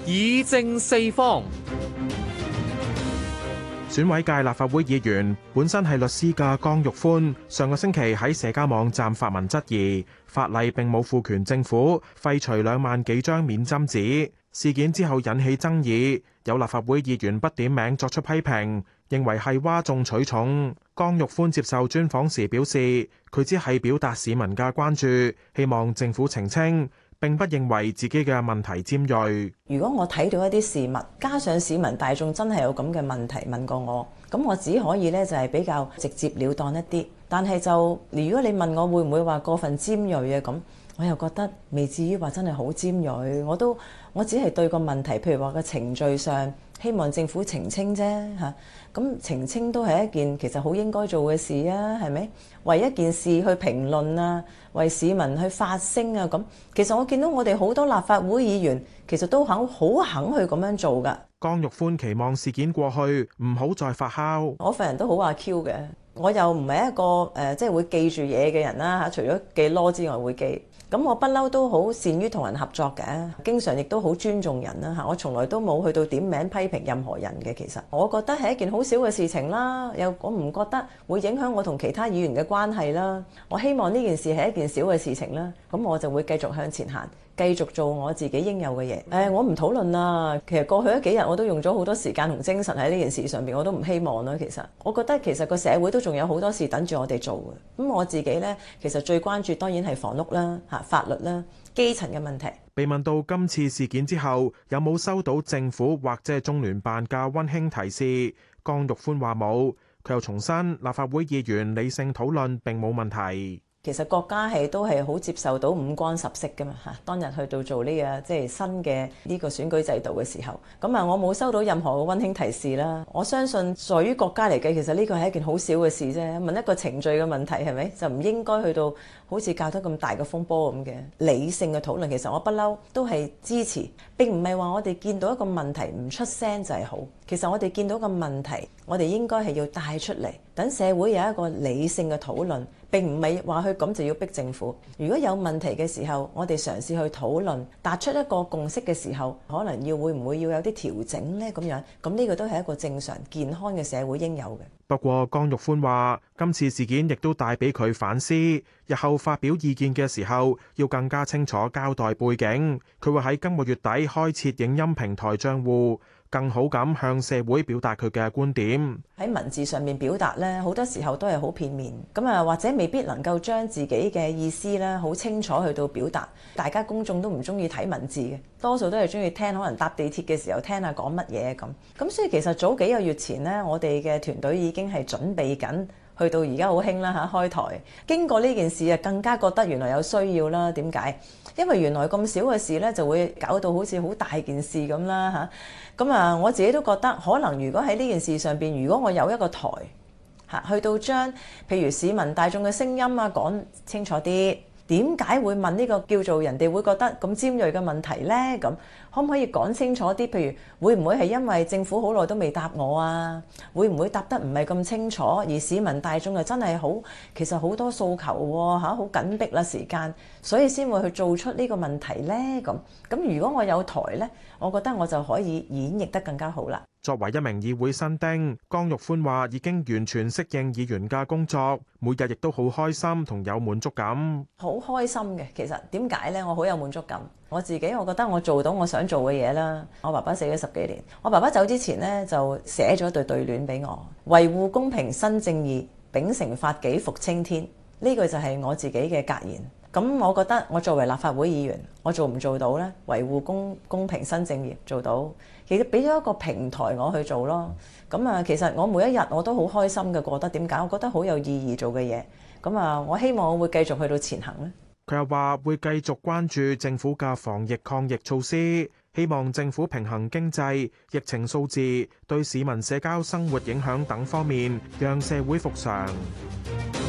議政四方。 選委界立法會議員本身係律師嘅江玉歡，上個星期喺社交網站發文質疑法例並冇賦權政府廢除2萬幾張免針紙。事件之後引起爭議，有立法會議員不點名作出批評，認為係嘩眾取寵。江玉歡接受專訪時表示，佢只係表達市民嘅關注，希望政府澄清，並不認為自己嘅問題尖銳。 如果我睇到一啲事物，加上市民大眾真係有咁嘅問題問過我，咁我只可以呢就係比較直接了當一啲。但係就如果你問我會唔會話過分尖銳啊，咁我又覺得未至於話真係好尖銳。我只係對個問題，譬如話個程序上，希望政府澄清啫嚇。咁澄清都係一件其實好應該做嘅事啊，係咪？為一件事去評論啊，為市民去發聲啊，咁其實我見到我哋好多立法會議員其實都好肯去咁樣做㗎。 江玉歡期望事件過去，唔好再發酵。 我份人都好阿 Q 嘅，我又唔係一個即係會記住嘢嘅人啦嚇，除咗記囉之外會記。咁我不嬲都好善於同人合作嘅，經常亦都好尊重人啦嚇。我從來都冇去到點名批評任何人嘅。其實我覺得係一件好小嘅事情啦，又我唔覺得會影響我同其他議員嘅關係啦。我希望呢件事係一件小嘅事情啦，咁我就會繼續向前行，繼續做我自己應有嘅嘢。我唔討論啦。其實過去嗰幾日我都用咗好多時間同精神喺呢件事上邊，我都唔希望啦。其實我覺得其實個社會都仲有好多事等住我哋做嘅。咁我自己呢，其實最關注當然係房屋啦、法律啦、基層嘅問題。 被問到今次事件之後有冇收到政府或者係中聯辦嘅溫馨提示，江玉歡話冇。佢又重申立法會議員理性討論並冇問題。 其實國家都係好接受到五光十色㗎嘛嚇。當日去到做呢個即係新嘅呢個選舉制度嘅時候，咁我冇收到任何嘅溫馨提示啦。我相信在於國家嚟計，其實呢個係一件好小嘅事啫。問一個程序嘅問題係咪就唔應該去到好似搞得咁大嘅風波咁嘅理性嘅討論？其實我不嬲都係支持，並唔係話我哋見到一個問題唔出聲就係好。其實我哋見到個問題，我哋應該係要帶出嚟，等社會有一個理性嘅討論。並唔係話佢咁就要逼政府。如果有問題嘅時候，我哋嘗試去討論，達出一個共識嘅時候，可能會唔會要有啲調整呢？咁樣咁呢個都係一個正常健康嘅社會應有嘅。 不過江玉歡話，今次事件亦都帶俾佢反思，日後發表意見嘅時候要更加清楚交代背景。佢會喺今個月底開設影音平台賬戶，更好咁向社會表達佢嘅觀點。 喺文字上面表達咧，好多時候都係好片面，咁或者未必能夠將自己嘅意思咧好清楚去到表達。大家公眾都唔中意睇文字嘅，多數都係中意聽，可能搭地鐵嘅時候聽下講乜嘢咁。咁所以其實早幾個月前呢，我哋嘅團隊已經係準備緊。去到而家好興啦嚇，開台經過呢件事啊，更加覺得原來有需要啦。點解？因為原來咁少嘅事咧，就會搞到好似好大件事咁啦嚇。咁我自己都覺得可能如果喺呢件事上邊，如果我有一個台嚇，去到將譬如市民大眾嘅聲音啊講清楚啲。點解會問呢個叫做人哋會覺得咁尖鋭嘅問題呢？咁可唔可以講清楚啲？譬如會唔會係因為政府好耐都未答我啊？會唔會答得唔係咁清楚？而市民大眾又真係其實好多訴求喎嚇，好緊迫啦時間，所以先會去做出呢個問題呢？咁如果我有台呢，我覺得我就可以演繹得更加好啦。 作為一名議會新丁，江玉歡話已經完全適應議員嘅工作，每日亦都好開心同有滿足感。 好開心嘅，其實點解呢？我好有滿足感。我自己我覺得我做到我想做嘅嘢啦。我爸爸死咗10幾年，我爸爸走之前呢，就寫咗對聯俾我：維護公平新正義，秉承法紀復青天。呢句就係我自己嘅格言。咁我覺得我作為立法會議員，我做唔做到呢？維護公平新正義做到，其實俾咗一個平台我去做咯。咁其實我每一日我都好開心嘅過得。點解？我覺得好有意義做嘅嘢。咁我希望我會繼續去到前行咧。 佢又話會繼續關注政府嘅防疫抗疫措施，希望政府平衡經濟、疫情數字對市民社交生活影響等方面，讓社會復常。